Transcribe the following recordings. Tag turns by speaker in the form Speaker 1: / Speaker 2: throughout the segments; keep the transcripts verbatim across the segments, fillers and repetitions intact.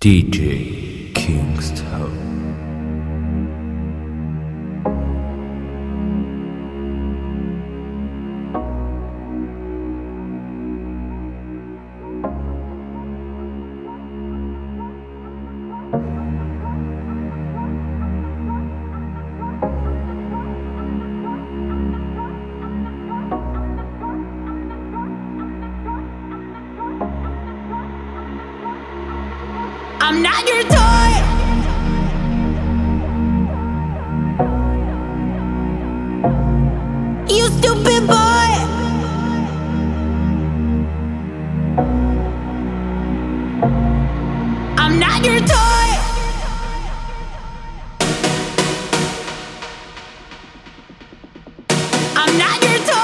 Speaker 1: D J Kingstone.
Speaker 2: I'm not your toy. You stupid boy. I'm not your toy. I'm not your toy.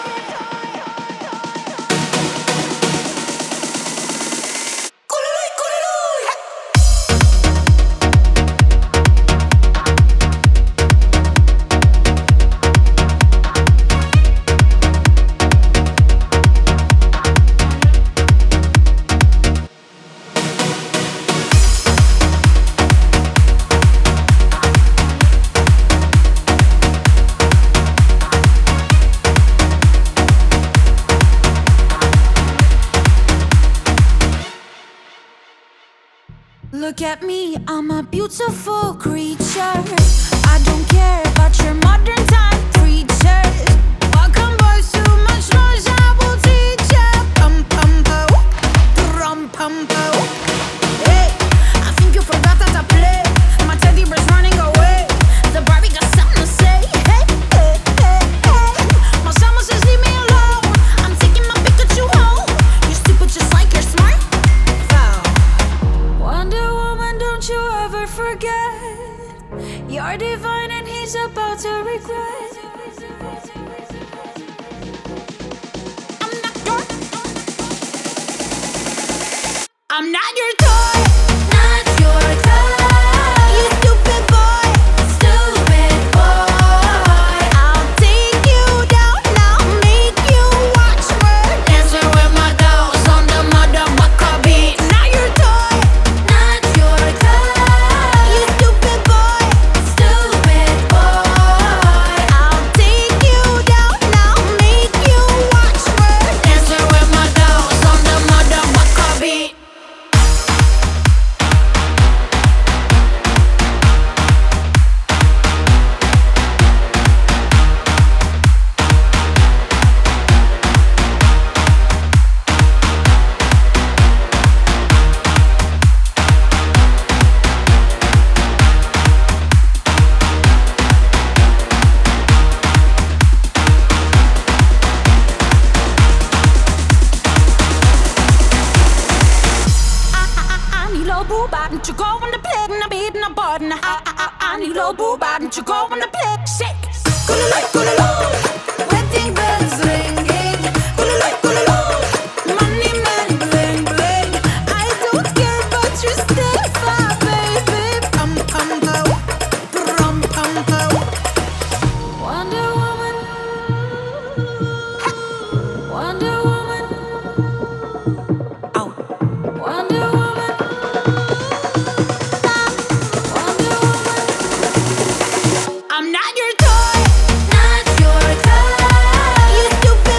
Speaker 2: Look at me, I'm a beautiful creature. I don't care about your modern time preachers. Welcome boys, too much noise, I will teach ya. Pum pum po, rum pum po. Hey, I think you forgot that I play. My teddy bear's running away. The Barbie got something to say. Hey, hey, hey, hey. My summer says leave me alone. I'm taking my Pikachu home. You're stupid just like you're smart. Wonder Woman, don't you ever forget. You're divine and he's about to regret. I'm not your I'm not your toy. Not your toy. You stupid boy. Stupid boy. I'll take you down, I'll make you watch me. Dancing with my dolls on the motherfucker beat. Not your toy. Not your toy. You stupid boy. Stupid boy. I'll take you down, I'll make you watch me. Dancing with my dolls on the motherfucker beat. I need a boo bop, don't you go on the plate and I'm eating a button. I, I, I, I need a boo bop, don't you go on the plate. Shake, kulala, kulala. Wedding bells ringing, kulala, kulala. Money man bling bling. I don't care, but you still fine, baby. Pum pum po, rum pum po. Wonder Woman, Wonder Woman. Oh, Wonder Woman. I'm not your toy. Not your toy. You stupid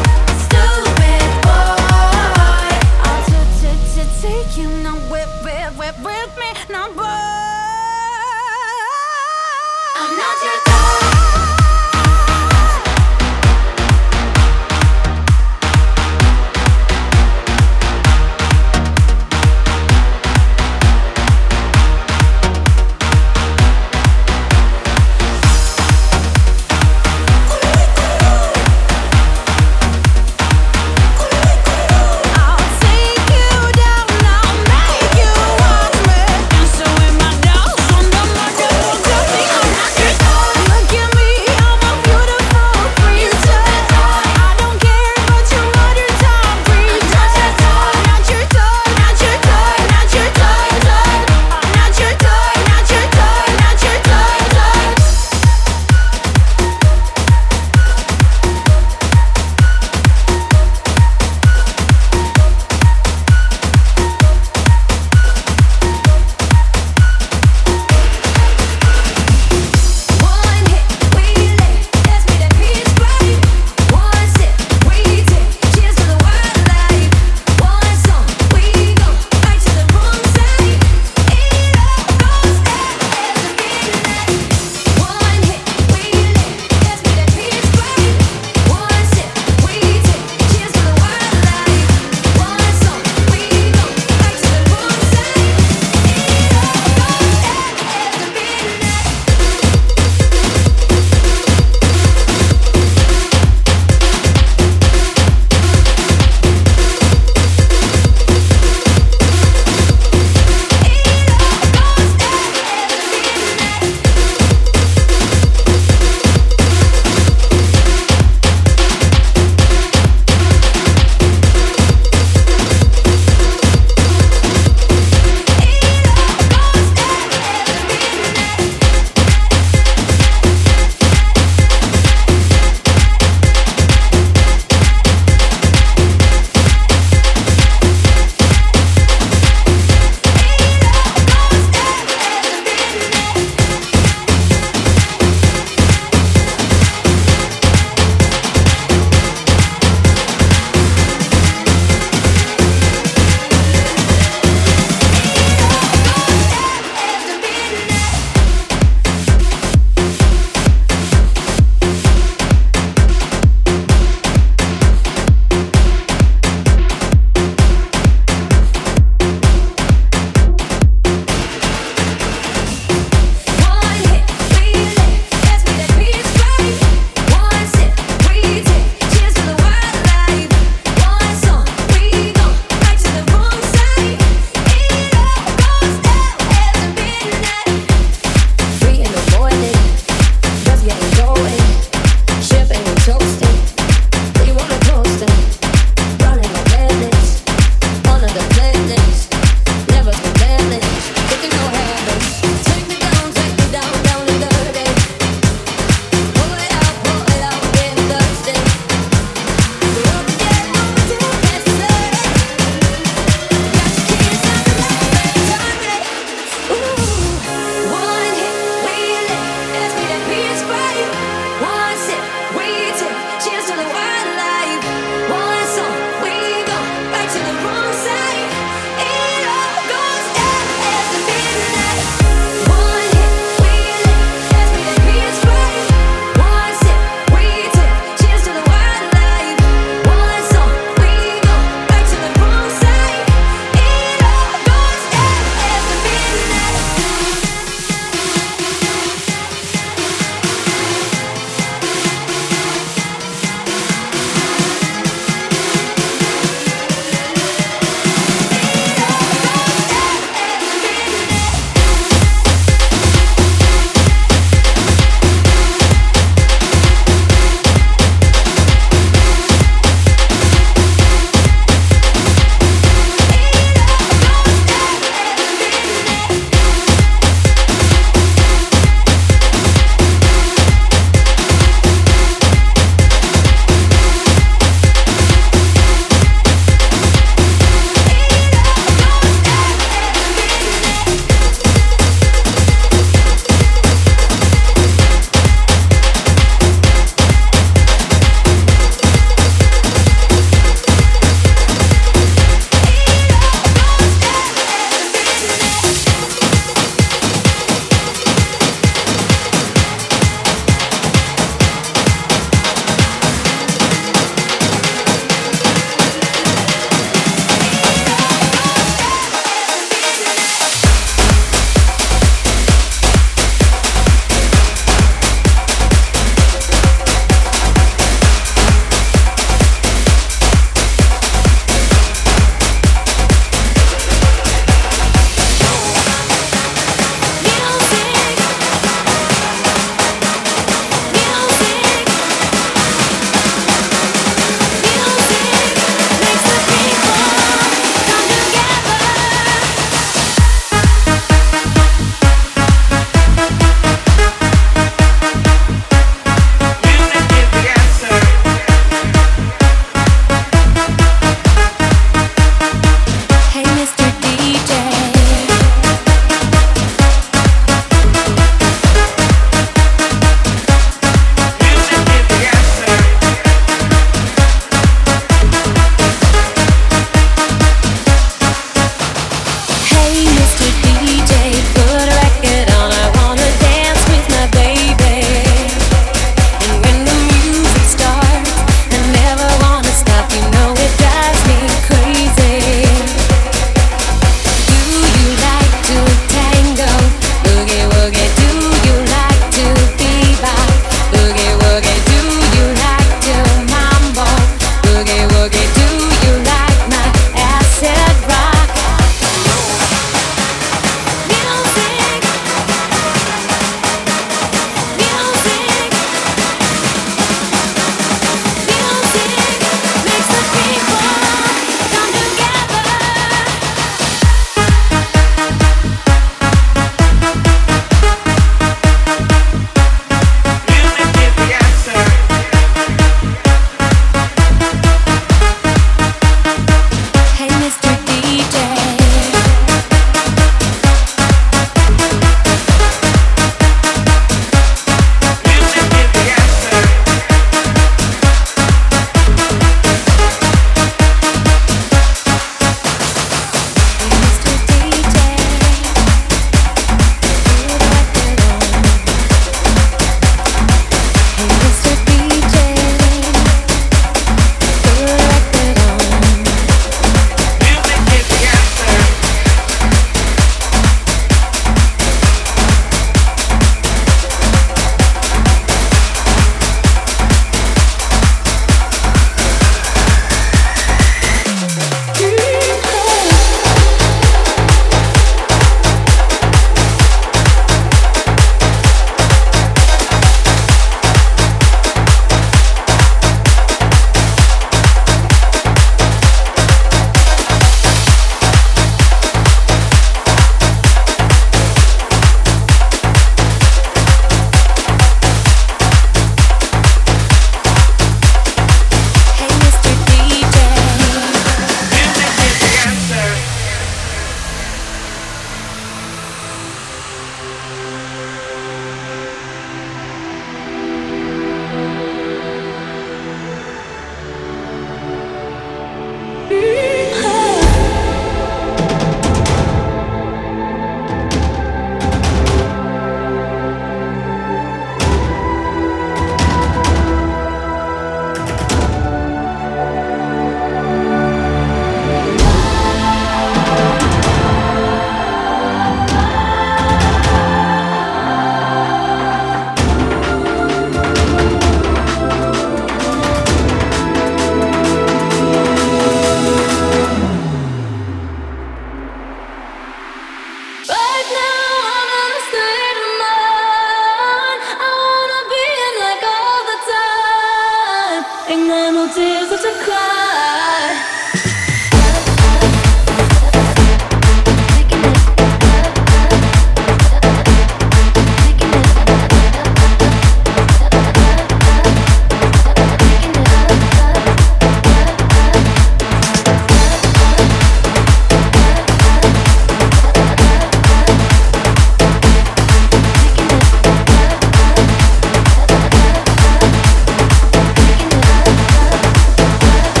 Speaker 2: Making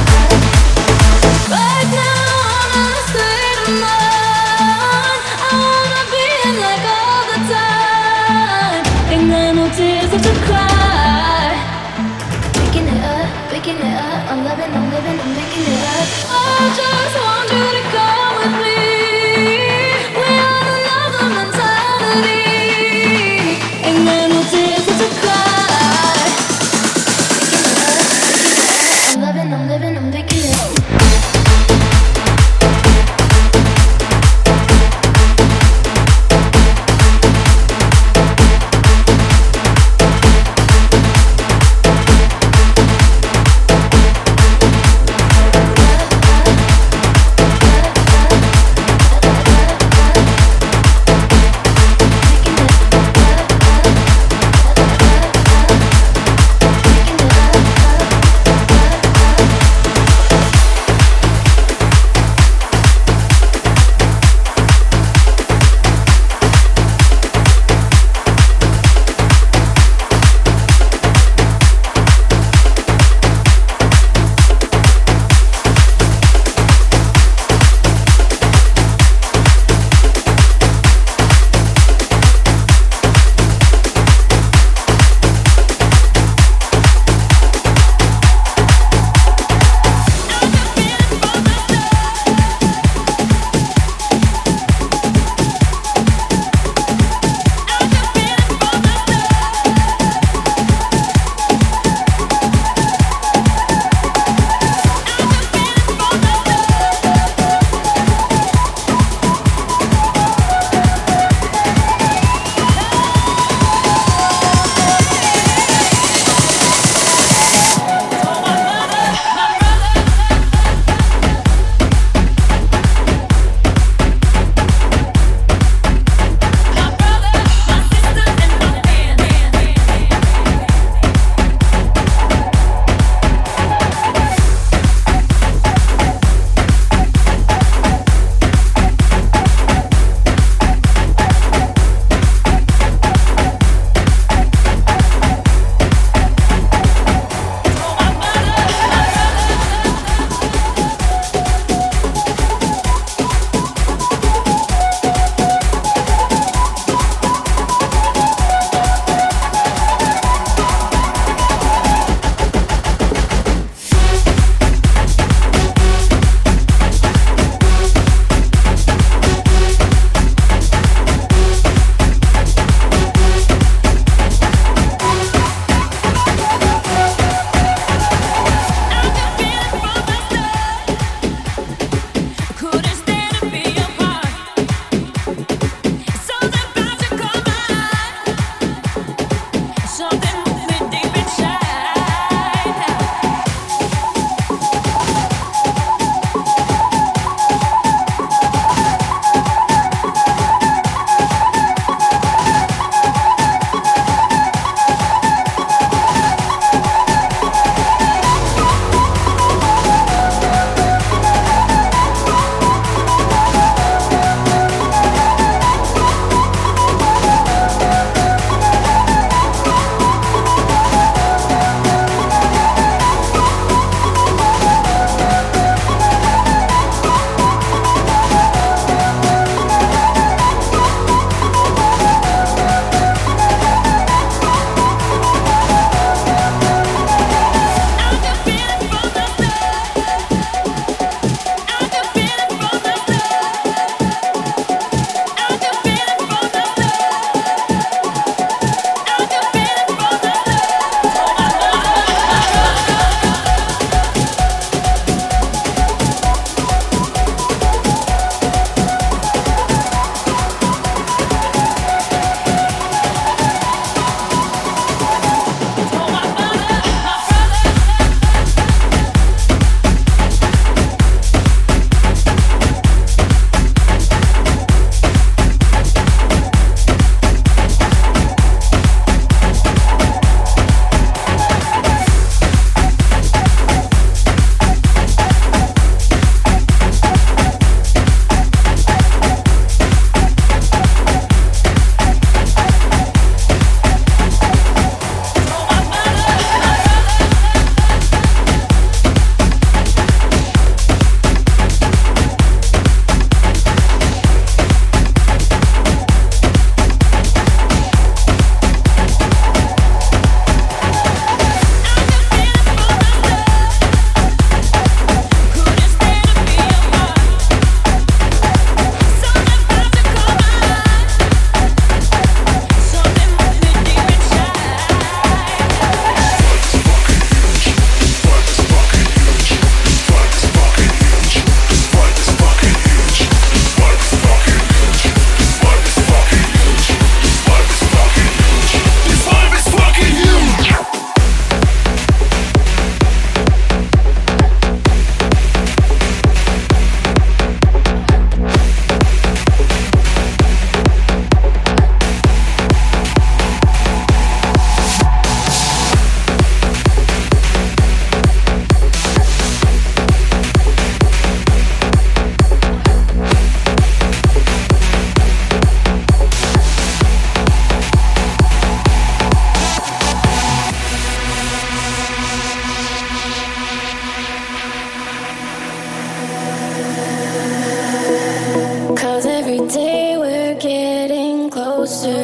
Speaker 2: getting closer.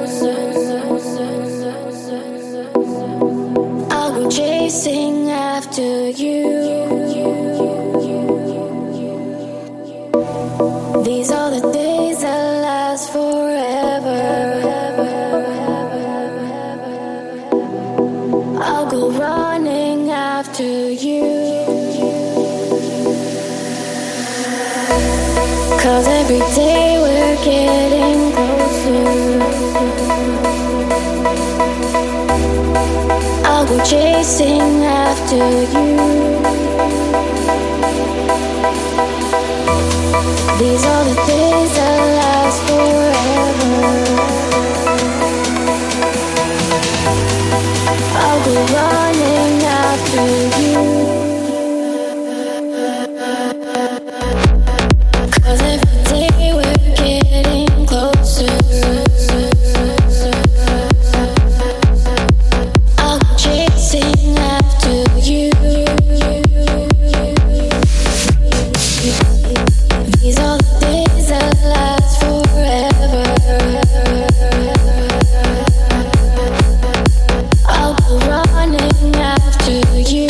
Speaker 2: I'll go chasing after you. These are the days that last forever. I'll go running after you. 'Cause every day we're getting closer. I'll go chasing after you. These are the days that last forever. I'll go running after you. 'Cause every day we're getting closer. I'll go chasing after you. These are the days that last forever. I'll go running after you.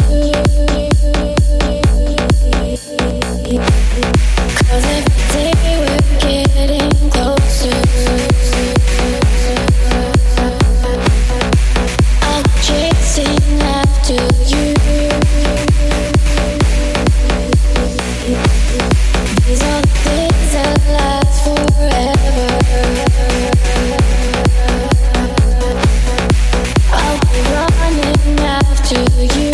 Speaker 2: 'Cause every day we're getting closer. I'll go chasing after you. These are the days that last forever. I'll be running after you.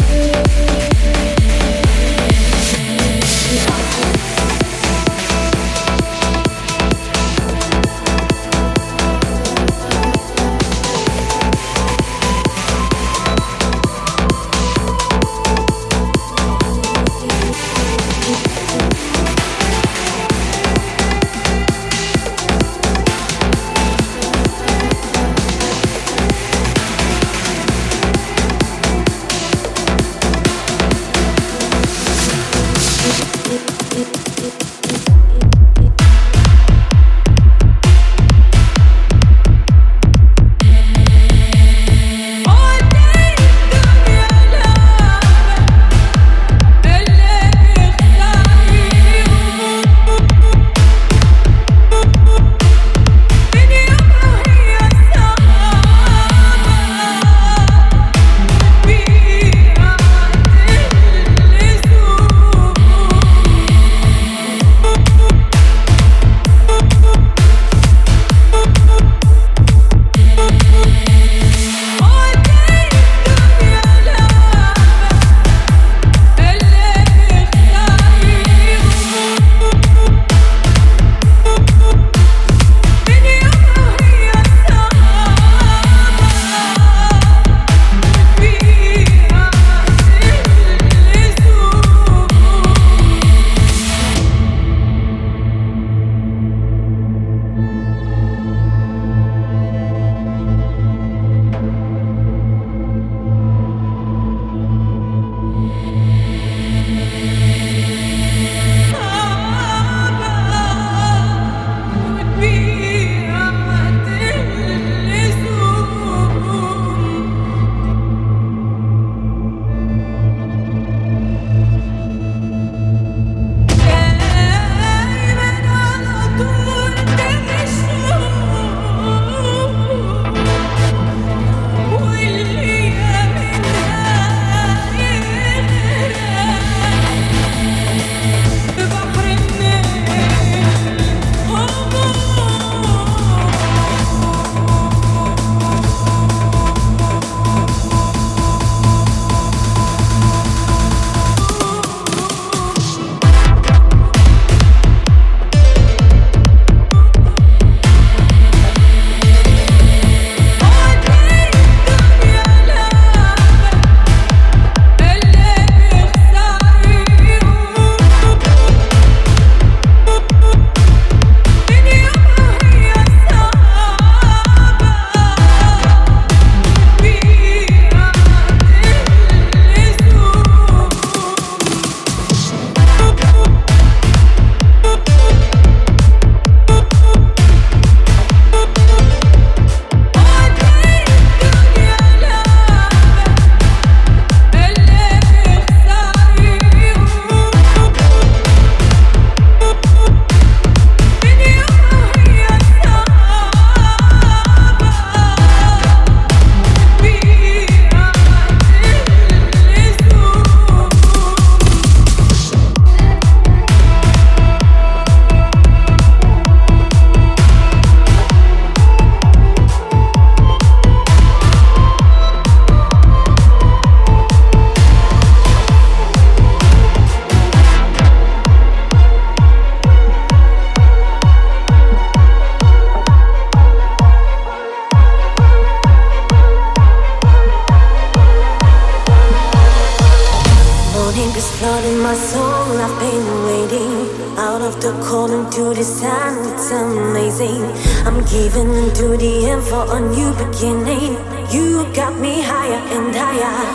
Speaker 2: I'm giving into the end for a new beginning. You got me higher and higher.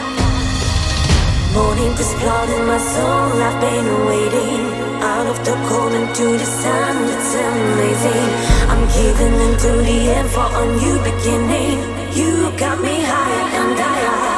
Speaker 2: Morning is flooding my soul. I've been waiting out of the cold into the sun. It's amazing. I'm giving into the end for a new beginning. You got me higher and higher.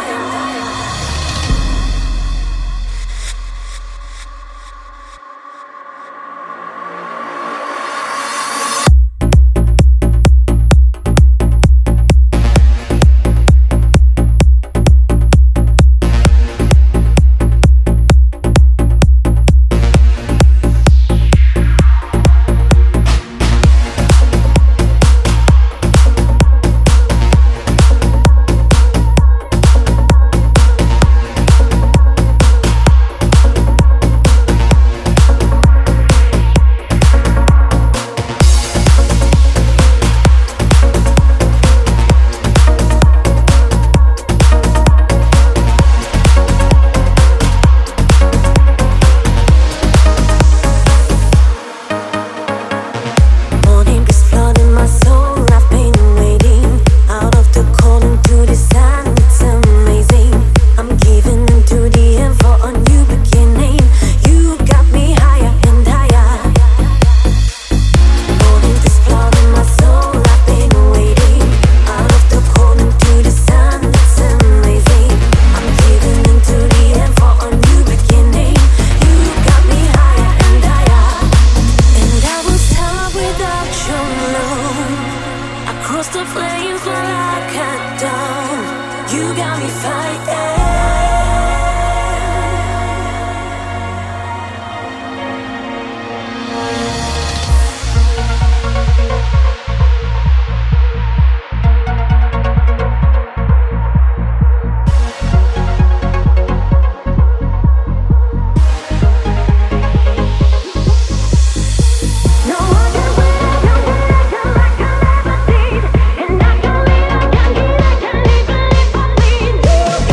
Speaker 3: And I can live, I can live, I can live, live for me.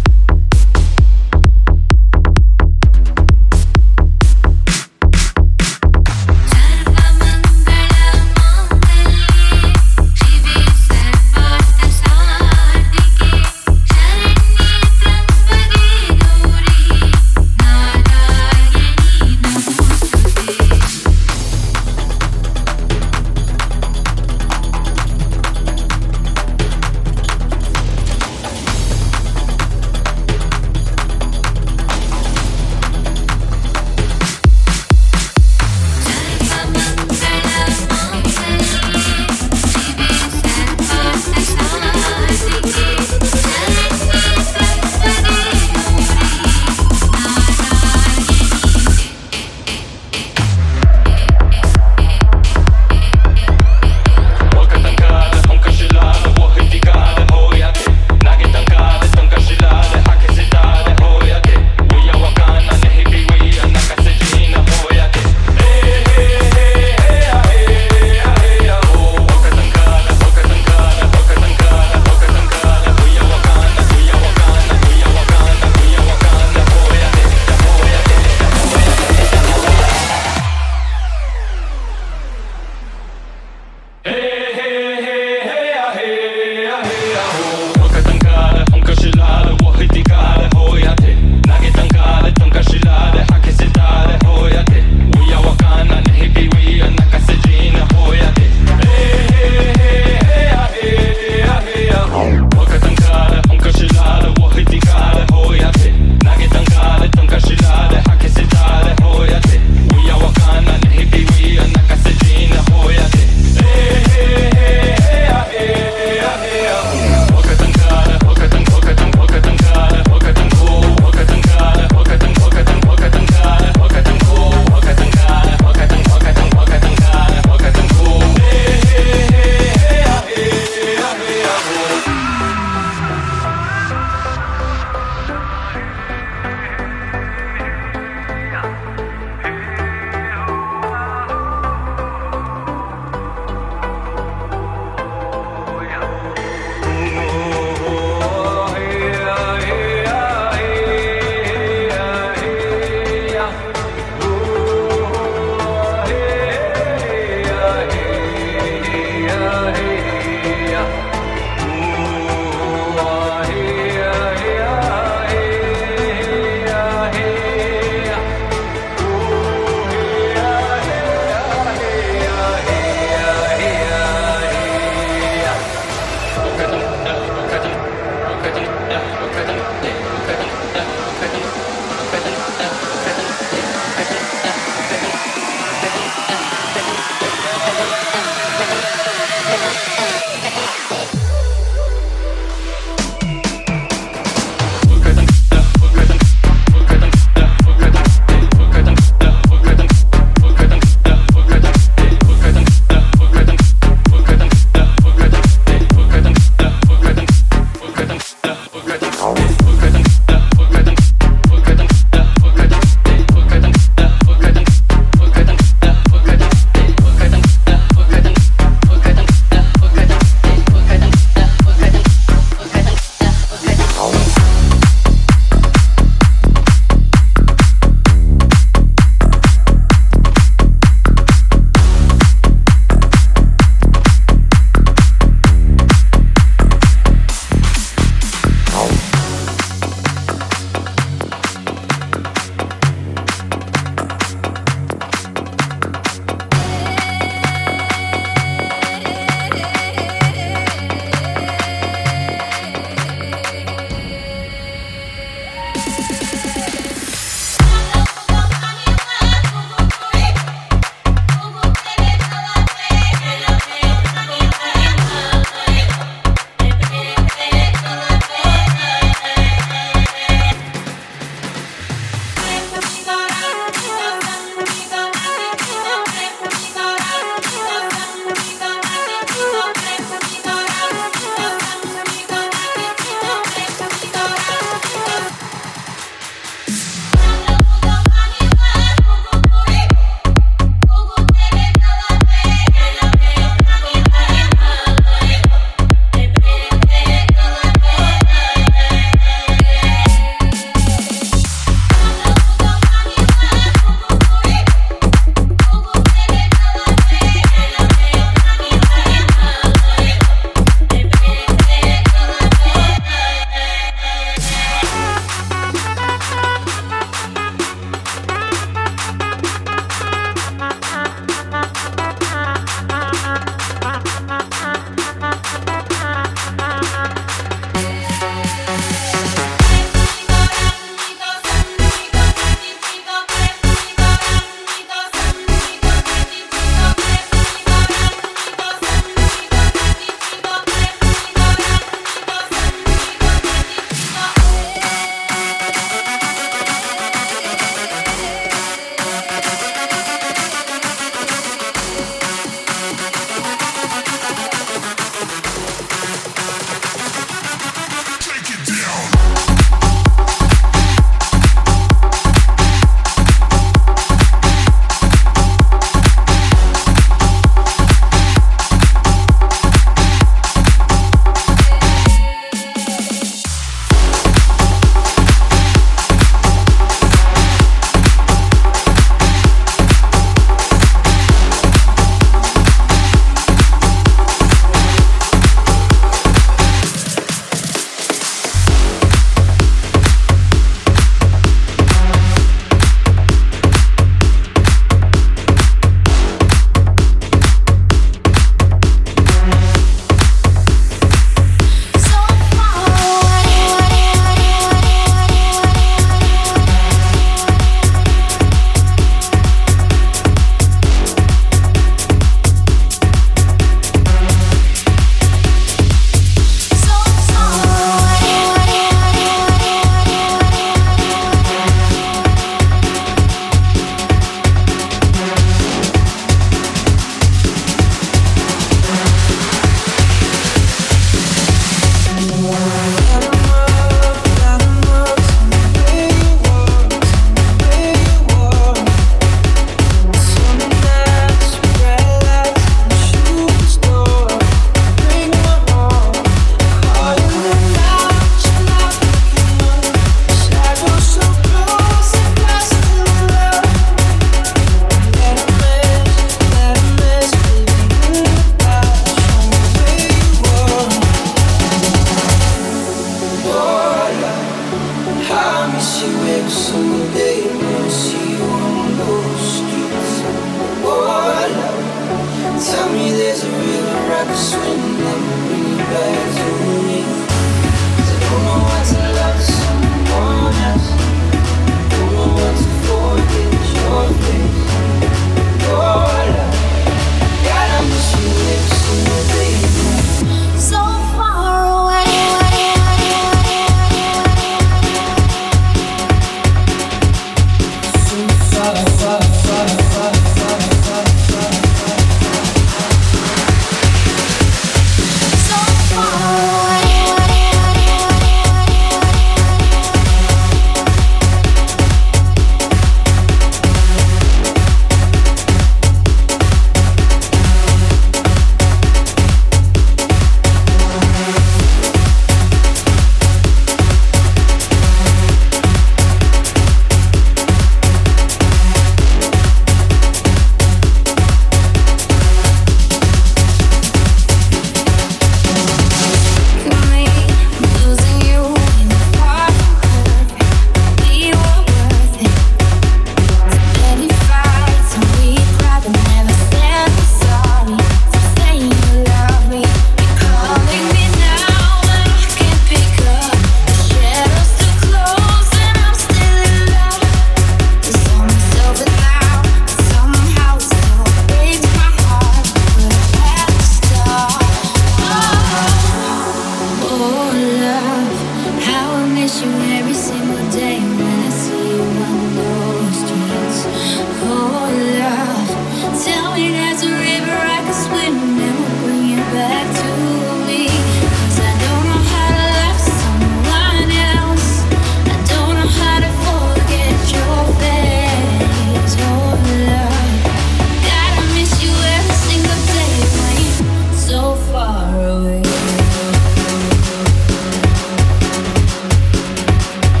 Speaker 2: miss you every single day when I see you on those streets. Oh, love, tell me there's a river I can swim and will bring you back to me. 'Cause I don't know how to love someone else. I don't know how to forget your face. Oh, love, gotta miss you every single day when you're so far away.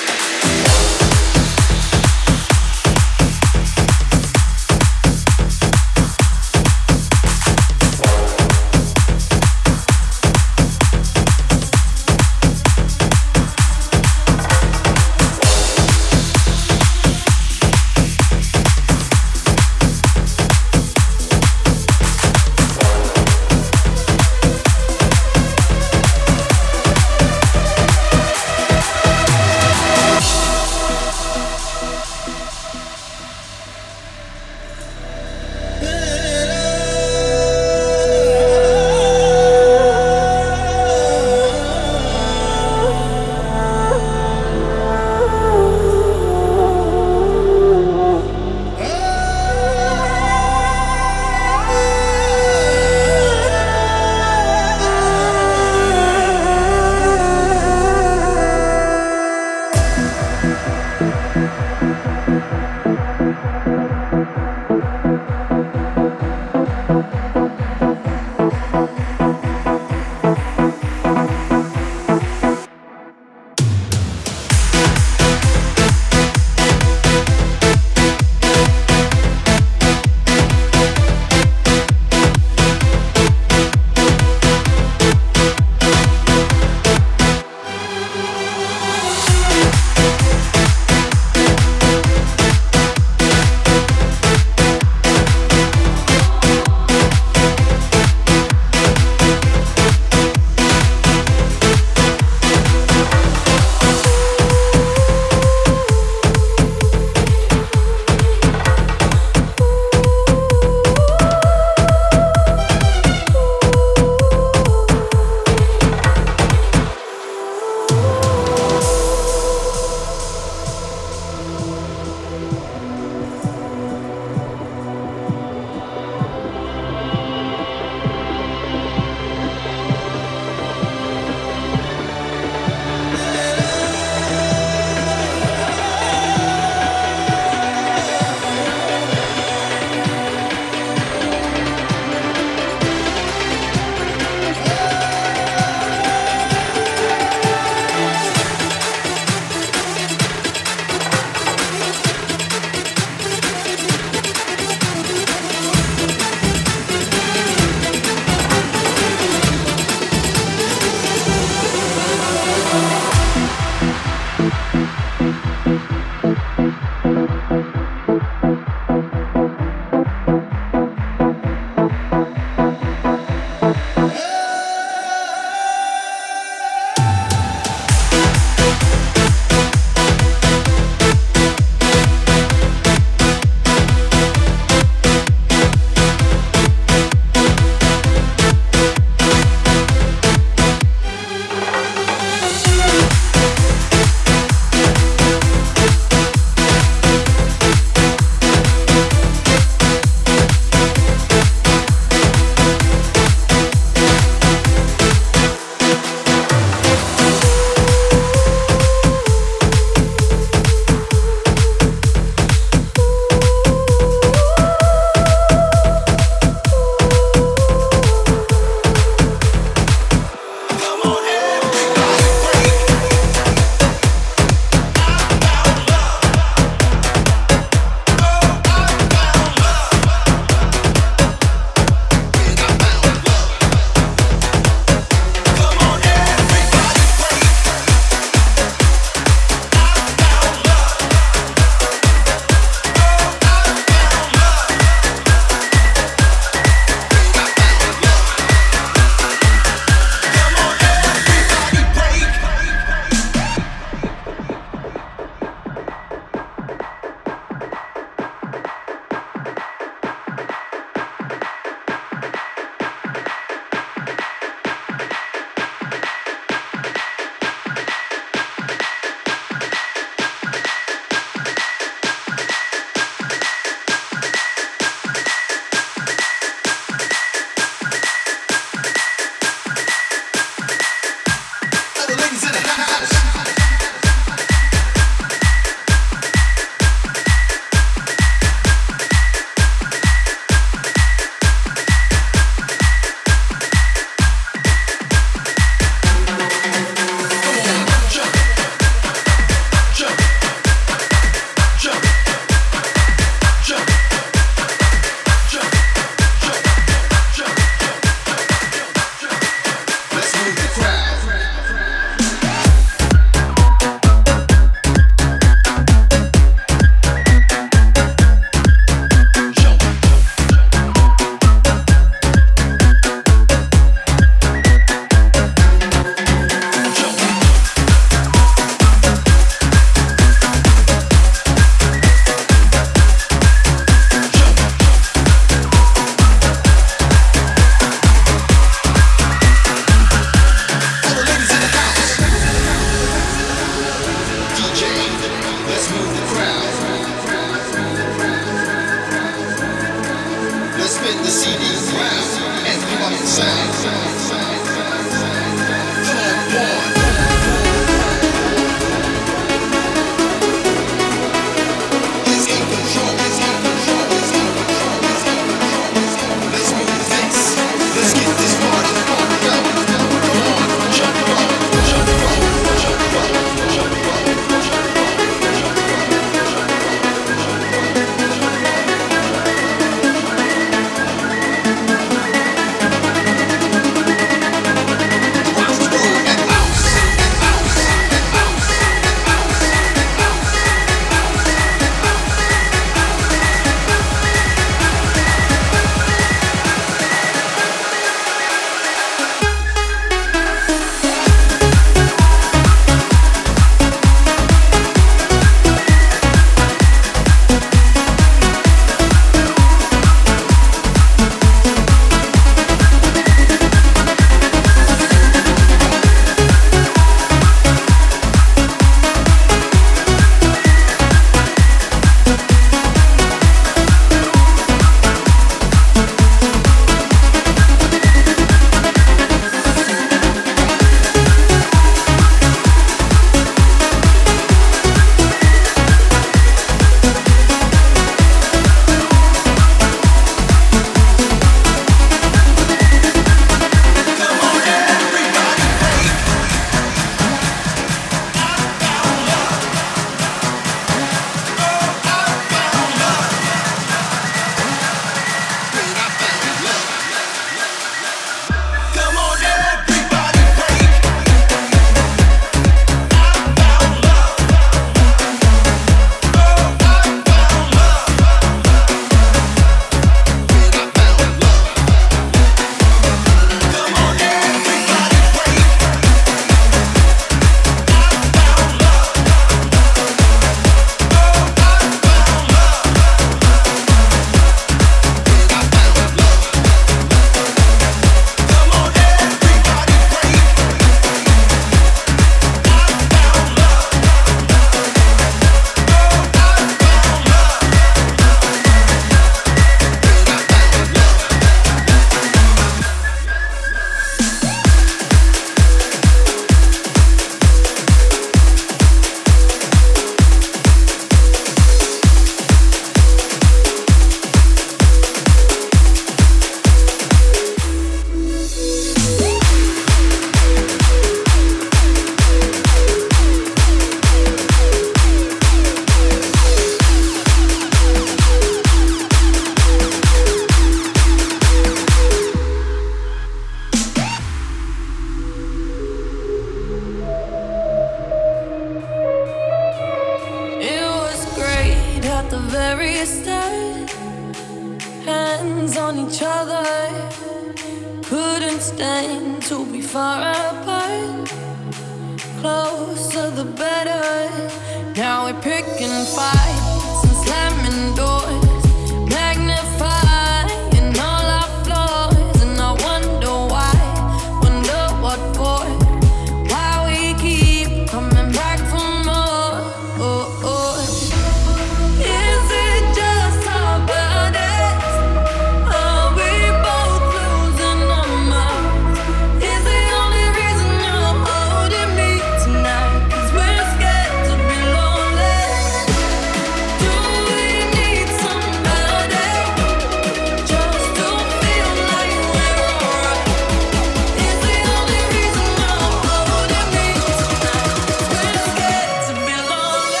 Speaker 3: at the very start. Hands on each other, couldn't stand to be far apart. Closer the better. Now we're picking fights and slamming doors, magnifying all our flaws. And I wonder why, wonder what for, why we keep coming back for more. Oh, oh. Is it just our bodies? Are we both losing our minds? Is the only reason you're holding me tonight 'cause we're scared to be lonely? Do we need somebody just to feel like we're alright? Is the only reason you're holding me tonight 'cause we're scared to be lonely?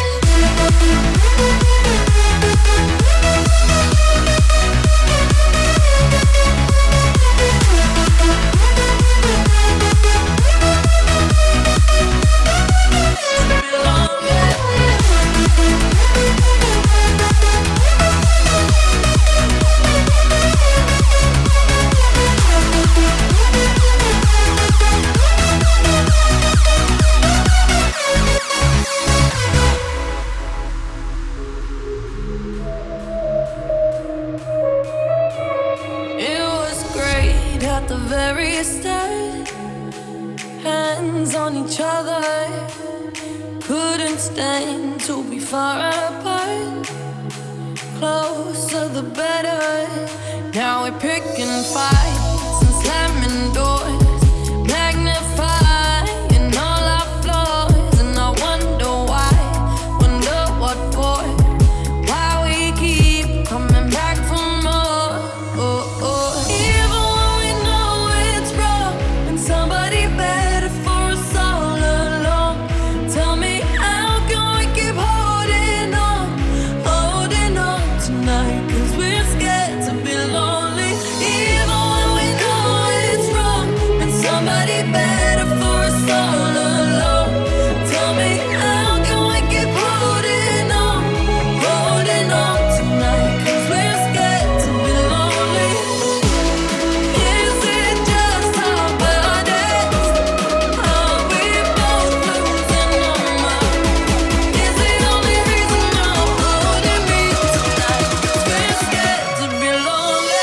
Speaker 3: It was great at the very start. Hands on each other, couldn't stand to be far apart. Closer the better. Now we're picking fights and slamming doors, magnifying all our flaws. And I wonder why, wonder what for, why we keep coming back for more. Oh, oh. Even when we know it's wrong, and somebody better for us all along. Tell me, how can we keep holding on, holding on tonight? 'Cause we're scared to be lonely. Even when we know it's wrong, and somebody better for us all along. Tell me, how can we keep holding on, holding on tonight? 'Cause we're scared to be lonely. Is it just our bodies? Are we both losing our minds? Is the only reason you're holding me tonight 'cause we're scared to be lonely?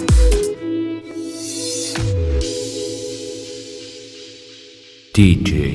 Speaker 1: D J